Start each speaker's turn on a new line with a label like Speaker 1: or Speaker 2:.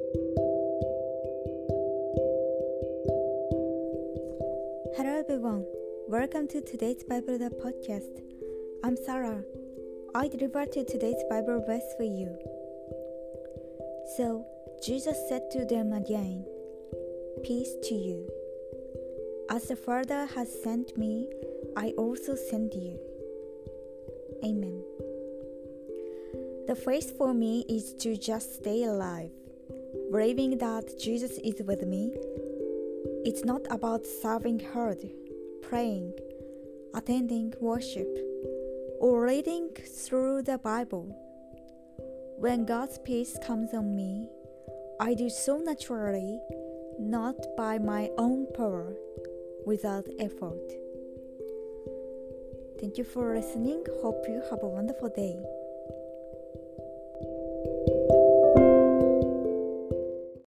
Speaker 1: Hello everyone, welcome to today's Bible podcast. I'm Sarah. I delivered today's Bible verse for you. So Jesus said to them again, "Peace to you. As the Father has sent me, I also send you." Amen. The faith for me is to just stay alive, believing that Jesus is with me. It's not about serving hard, praying, attending worship, or reading through the Bible. When God's peace comes on me, I do so naturally, not by my own power, without effort. Thank you for listening. Hope you have a wonderful day.